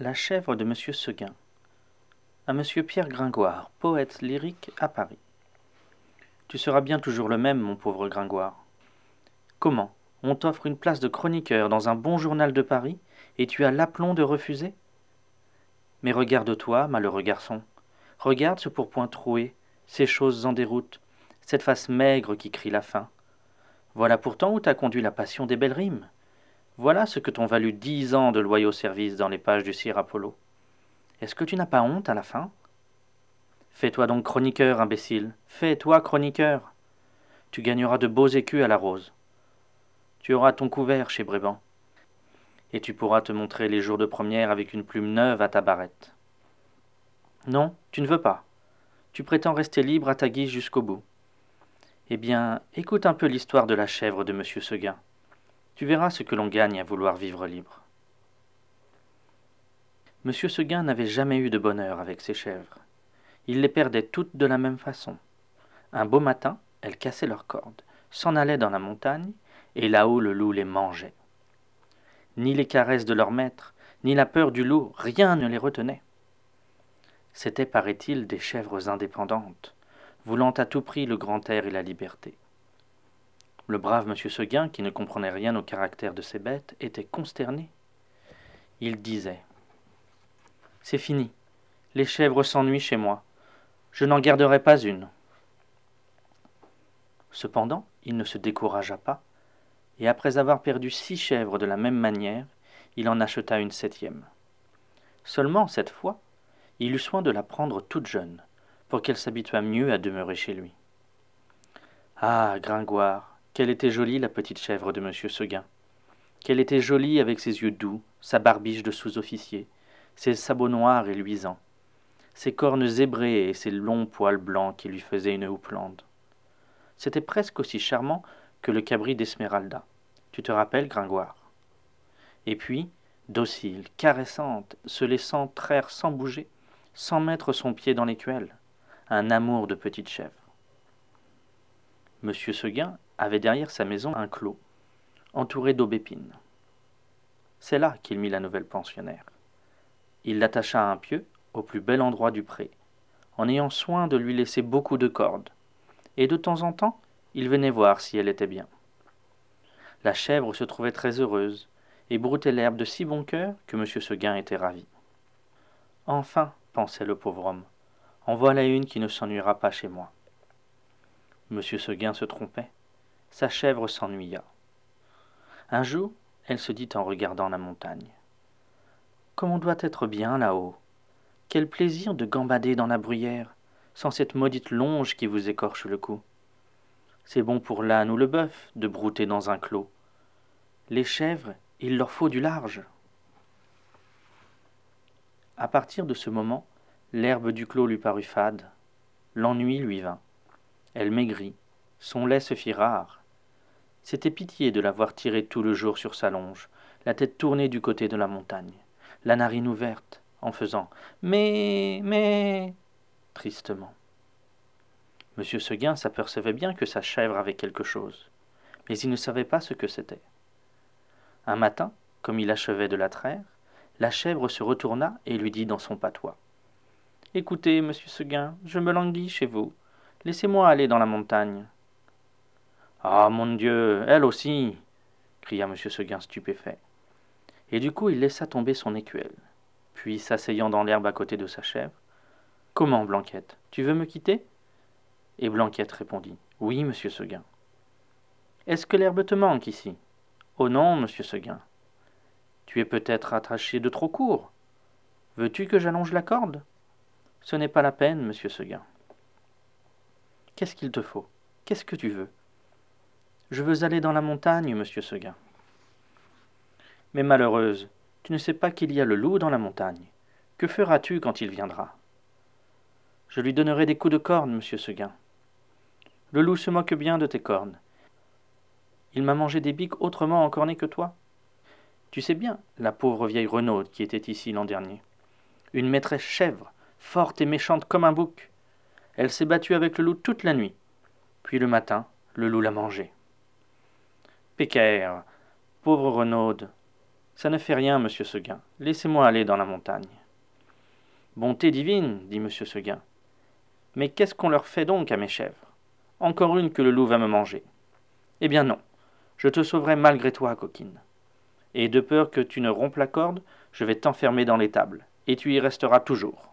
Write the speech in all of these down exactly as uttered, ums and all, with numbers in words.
La chèvre de Monsieur Seguin. À Monsieur Pierre Gringoire, poète lyrique à Paris. Tu seras bien toujours le même, mon pauvre Gringoire. Comment? On t'offre une place de chroniqueur dans un bon journal de Paris, et tu as l'aplomb de refuser? Mais regarde-toi, malheureux garçon. Regarde ce pourpoint troué, ces choses en déroute, cette face maigre qui crie la faim. Voilà pourtant où t'a conduit la passion des belles rimes. Voilà ce que t'ont valu dix ans de loyaux services dans les pages du Sire Apollo. Est-ce que tu n'as pas honte à la fin? Fais-toi donc chroniqueur, imbécile. Fais-toi chroniqueur. Tu gagneras de beaux écus à la rose. Tu auras ton couvert chez Bréban. Et tu pourras te montrer les jours de première avec une plume neuve à ta barrette. Non, tu ne veux pas. Tu prétends rester libre à ta guise jusqu'au bout. Eh bien, écoute un peu l'histoire de la chèvre de Monsieur Seguin. Tu verras ce que l'on gagne à vouloir vivre libre. Monsieur Seguin n'avait jamais eu de bonheur avec ses chèvres. Il les perdait toutes de la même façon. Un beau matin, elles cassaient leurs cordes, s'en allaient dans la montagne, et là-haut le loup les mangeait. Ni les caresses de leur maître, ni la peur du loup, rien ne les retenait. C'étaient, paraît-il, des chèvres indépendantes, voulant à tout prix le grand air et la liberté. Le brave Monsieur Seguin, qui ne comprenait rien au caractère de ces bêtes, était consterné. Il disait « C'est fini, les chèvres s'ennuient chez moi, je n'en garderai pas une. » Cependant, il ne se découragea pas, et après avoir perdu six chèvres de la même manière, il en acheta une septième. Seulement, cette fois, il eut soin de la prendre toute jeune, pour qu'elle s'habituât mieux à demeurer chez lui. Ah, Gringoire, qu'elle était jolie, la petite chèvre de Monsieur Seguin. Qu'elle était jolie avec ses yeux doux, sa barbiche de sous-officier, ses sabots noirs et luisants, ses cornes zébrées et ses longs poils blancs qui lui faisaient une houppelande. C'était presque aussi charmant que le cabri d'Esmeralda. Tu te rappelles, Gringoire? Et puis, docile, caressante, se laissant traire sans bouger, sans mettre son pied dans l'écuelle, un amour de petite chèvre. Monsieur Seguin avait derrière sa maison un clos, entouré d'aubépines. C'est là qu'il mit la nouvelle pensionnaire. Il l'attacha à un pieu, au plus bel endroit du pré, en ayant soin de lui laisser beaucoup de cordes, et de temps en temps, il venait voir si elle était bien. La chèvre se trouvait très heureuse, et broutait l'herbe de si bon cœur que Monsieur Seguin était ravi. Enfin, pensait le pauvre homme, en voilà une qui ne s'ennuiera pas chez moi. Monsieur Seguin se trompait, sa chèvre s'ennuya. Un jour, elle se dit en regardant la montagne. Comme on doit être bien là-haut. Quel plaisir de gambader dans la bruyère, sans cette maudite longe qui vous écorche le cou. C'est bon pour l'âne ou le bœuf de brouter dans un clos. Les chèvres, il leur faut du large. À partir de ce moment, l'herbe du clos lui parut fade. L'ennui lui vint. Elle maigrit. Son lait se fit rare. C'était pitié de la voir tirer tout le jour sur sa longe, la tête tournée du côté de la montagne, la narine ouverte, en faisant « mais, mais » tristement. Monsieur Seguin s'apercevait bien que sa chèvre avait quelque chose, mais il ne savait pas ce que c'était. Un matin, comme il achevait de la traire, la chèvre se retourna et lui dit dans son patois. « Écoutez, monsieur Seguin, je me languis chez vous. Laissez-moi aller dans la montagne. »« Ah, mon Dieu, elle aussi !» cria monsieur Seguin stupéfait. Et du coup il laissa tomber son écuelle. Puis, s'asseyant dans l'herbe à côté de sa chèvre, « Comment, Blanquette, tu veux me quitter ?» Et Blanquette répondit, « Oui, monsieur Seguin. »« Est-ce que l'herbe te manque ici ?»« Oh non, monsieur Seguin. »« Tu es peut-être attaché de trop court. Veux-tu que j'allonge la corde ?»« Ce n'est pas la peine, monsieur Seguin. »« Qu'est-ce qu'il te faut? Qu'est-ce que tu veux ?»« Je veux aller dans la montagne, monsieur Seguin. »« Mais malheureuse, tu ne sais pas qu'il y a le loup dans la montagne. Que feras-tu quand il viendra ?»« Je lui donnerai des coups de corne, monsieur Seguin. »« Le loup se moque bien de tes cornes. Il m'a mangé des biques autrement encornées que toi. Tu sais bien, la pauvre vieille Renaude qui était ici l'an dernier. Une maîtresse chèvre, forte et méchante comme un bouc. Elle s'est battue avec le loup toute la nuit. Puis le matin, le loup l'a mangée. Pécaire, pauvre Renaude, Ça ne fait rien, monsieur Seguin. Laissez-moi aller dans la montagne. Bonté divine, dit monsieur Seguin. Mais qu'est-ce qu'on leur fait donc à mes chèvres? Encore une que le loup va me manger. Eh bien non, je te sauverai malgré toi, coquine. Et de peur que tu ne rompes la corde, je vais t'enfermer dans l'étable, et tu y resteras toujours.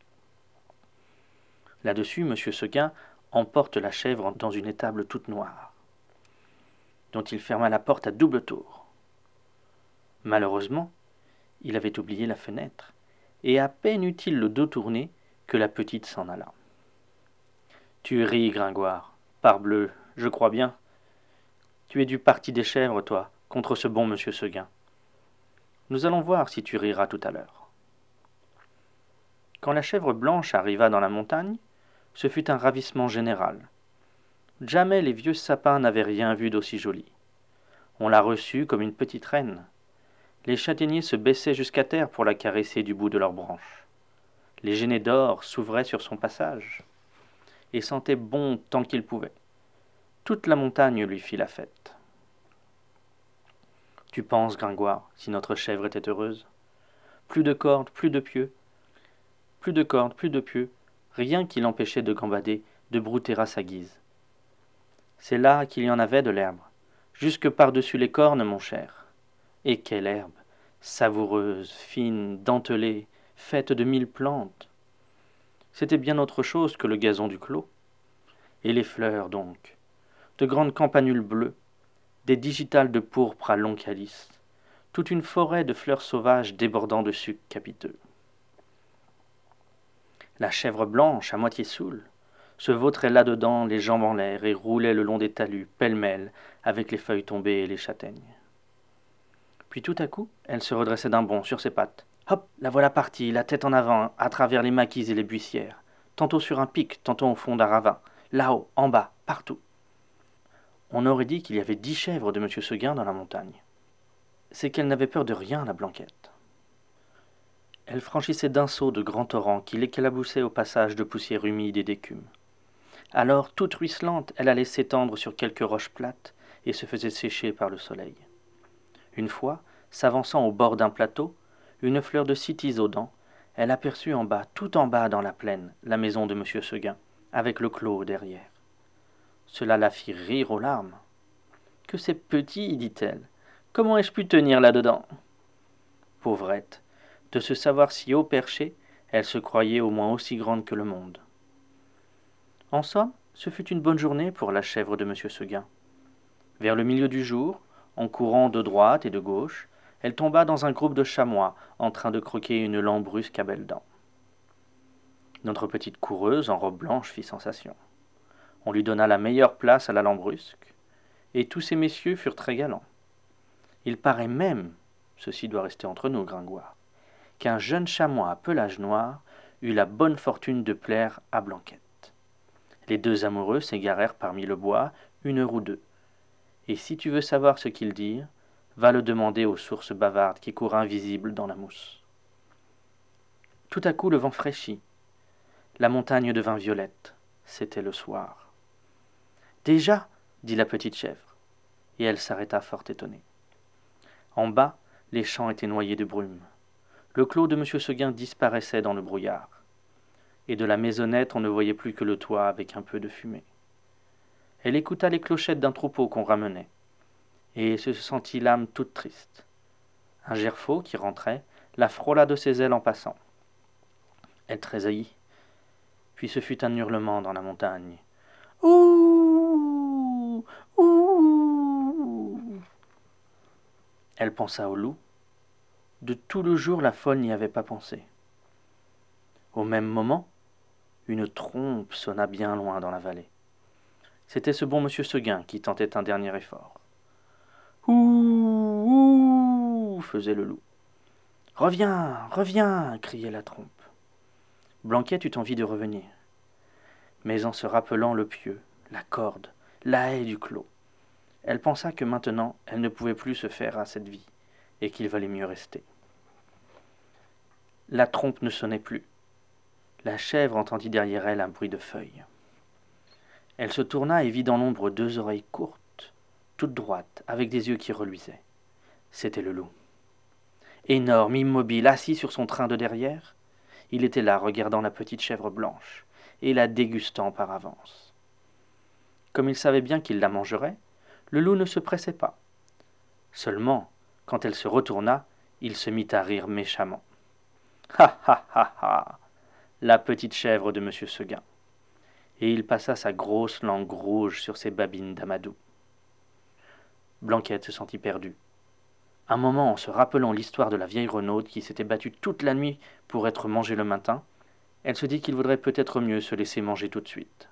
Là-dessus, monsieur Seguin emporte la chèvre dans une étable toute noire, dont il ferma la porte à double tour. Malheureusement, il avait oublié la fenêtre, et à peine eut-il le dos tourné que la petite s'en alla. Tu ris, Gringoire. Parbleu, je crois bien. Tu es du parti des chèvres, toi, contre ce bon monsieur Seguin. Nous allons voir si tu riras tout à l'heure. Quand la chèvre blanche arriva dans la montagne, ce fut un ravissement général. Jamais les vieux sapins n'avaient rien vu d'aussi joli. On la reçut comme une petite reine. Les châtaigniers se baissaient jusqu'à terre pour la caresser du bout de leurs branches. Les genêts d'or s'ouvraient sur son passage et sentaient bon tant qu'ils pouvaient. Toute la montagne lui fit la fête. Tu penses, Gringoire, si notre chèvre était heureuse? Plus de cordes, plus de pieux, plus de cordes, plus de pieux, rien qui l'empêchait de gambader, de brouter à sa guise. C'est là qu'il y en avait de l'herbe, jusque par-dessus les cornes, mon cher. Et quelle herbe, savoureuse, fine, dentelée, faite de mille plantes. C'était bien autre chose que le gazon du clos. Et les fleurs, donc, de grandes campanules bleues, des digitales de pourpre à longs calices, toute une forêt de fleurs sauvages débordant de sucs capiteux. La chèvre blanche, à moitié saoule, se vautrait là-dedans, les jambes en l'air, et roulait le long des talus, pêle-mêle, avec les feuilles tombées et les châtaignes. Puis tout à coup, elle se redressait d'un bond sur ses pattes. Hop, la voilà partie, la tête en avant, à travers les maquis et les buissières, tantôt sur un pic, tantôt au fond d'un ravin, là-haut, en bas, partout. On aurait dit qu'il y avait dix chèvres de monsieur Seguin dans la montagne. C'est qu'elle n'avait peur de rien, la Blanquette. Elle franchissait d'un saut de grands torrents qui l'éclaboussaient au passage de poussière humide et d'écume. Alors, toute ruisselante, elle allait s'étendre sur quelques roches plates et se faisait sécher par le soleil. Une fois, s'avançant au bord d'un plateau, une fleur de cytis aux dents, elle aperçut en bas, tout en bas dans la plaine, la maison de monsieur Seguin, avec le clos derrière. Cela la fit rire aux larmes. « Que c'est petit, dit-elle. Comment ai-je pu tenir là-dedans » Pauvrette, de se savoir si haut perchée, elle se croyait au moins aussi grande que le monde. En somme, ce fut une bonne journée pour la chèvre de monsieur Seguin. Vers le milieu du jour, en courant de droite et de gauche, elle tomba dans un groupe de chamois en train de croquer une lambrusque à belles dents. Notre petite coureuse en robe blanche fit sensation. On lui donna la meilleure place à la lambrusque, et tous ces messieurs furent très galants. Il paraît même, ceci doit rester entre nous, Gringoire, qu'un jeune chamois à pelage noir eut la bonne fortune de plaire à Blanquette. Les deux amoureux s'égarèrent parmi le bois une heure ou deux, et si tu veux savoir ce qu'ils dirent, va le demander aux sources bavardes qui courent invisibles dans la mousse. Tout à coup le vent fraîchit, la montagne devint violette, c'était le soir. « Déjà » dit la petite chèvre, et elle s'arrêta fort étonnée. En bas, les champs étaient noyés de brume. Le clos de monsieur Seguin disparaissait dans le brouillard, et de la maisonnette on ne voyait plus que le toit avec un peu de fumée. Elle écouta les clochettes d'un troupeau qu'on ramenait, et se sentit l'âme toute triste. Un gerfaut qui rentrait la frôla de ses ailes en passant. Elle tressaillit, puis ce fut un hurlement dans la montagne. « Ouh ! Ouh !» Elle pensa au loup. De tout le jour, la folle n'y avait pas pensé. Au même moment, une trompe sonna bien loin dans la vallée. C'était ce bon monsieur Seguin qui tentait un dernier effort. « Ouh ! Ouh !» faisait le loup. « Reviens, reviens !» criait la trompe. Blanquette eut envie de revenir. Mais en se rappelant le pieu, la corde, la haie du clos, elle pensa que maintenant elle ne pouvait plus se faire à cette vie, et qu'il valait mieux rester. La trompe ne sonnait plus. La chèvre entendit derrière elle un bruit de feuilles. Elle se tourna et vit dans l'ombre deux oreilles courtes, toutes droites, avec des yeux qui reluisaient. C'était le loup. Énorme, immobile, assis sur son train de derrière, il était là, regardant la petite chèvre blanche, et la dégustant par avance. Comme il savait bien qu'il la mangerait, le loup ne se pressait pas. Seulement, quand elle se retourna, il se mit à rire méchamment. Ha ha ha ha, la petite chèvre de monsieur Seguin. Et il passa sa grosse langue rouge sur ses babines d'amadou. Blanquette se sentit perdue. Un moment, en se rappelant l'histoire de la vieille renaude qui s'était battue toute la nuit pour être mangée le matin, elle se dit qu'il vaudrait peut-être mieux se laisser manger tout de suite.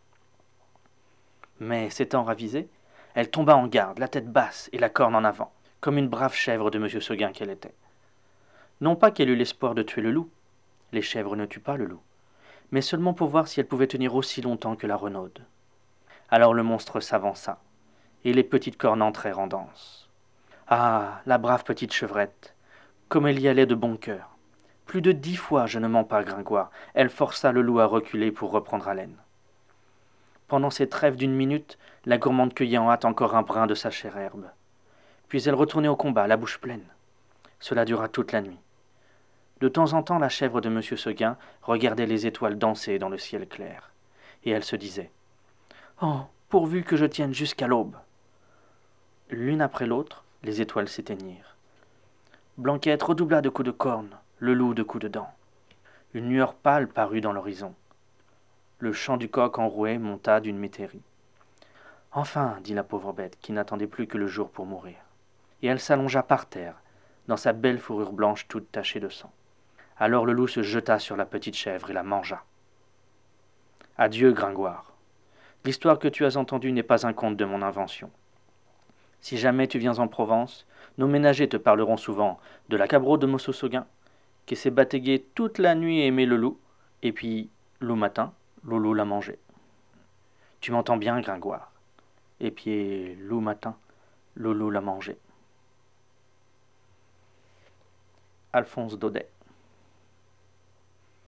Mais, s'étant ravisée, elle tomba en garde, la tête basse et la corne en avant, comme une brave chèvre de monsieur Seguin qu'elle était. Non pas qu'elle eût l'espoir de tuer le loup, les chèvres ne tuent pas le loup, mais seulement pour voir si elle pouvait tenir aussi longtemps que la renaude. Alors le monstre s'avança, et les petites cornes entrèrent en danse. Ah, la brave petite chevrette, comme elle y allait de bon cœur. Plus de dix fois, je ne mens pas, Gringoire, elle força le loup à reculer pour reprendre haleine. Pendant ces trêves d'une minute, la gourmande cueillait en hâte encore un brin de sa chère herbe. Puis elle retournait au combat, la bouche pleine. Cela dura toute la nuit. De temps en temps, la chèvre de monsieur Seguin regardait les étoiles danser dans le ciel clair. Et elle se disait « Oh, pourvu que je tienne jusqu'à l'aube !» L'une après l'autre, les étoiles s'éteignirent. Blanquette redoubla de coups de corne, le loup de coups de dents. Une lueur pâle parut dans l'horizon. Le chant du coq enroué monta d'une métairie. « Enfin, dit la pauvre bête, qui n'attendait plus que le jour pour mourir. » Et elle s'allongea par terre, dans sa belle fourrure blanche toute tachée de sang. Alors le loup se jeta sur la petite chèvre et la mangea. « Adieu, Gringoire. L'histoire que tu as entendue n'est pas un conte de mon invention. Si jamais tu viens en Provence, nos ménagers te parleront souvent de la cabro de Mosso Seguin, qui s'est bataillé toute la nuit et aimé le loup, et puis, loup matin, le loup l'a mangé. Tu m'entends bien, Gringoire. Et puis, loup matin, le loup l'a mangé. » Alphonse Daudet.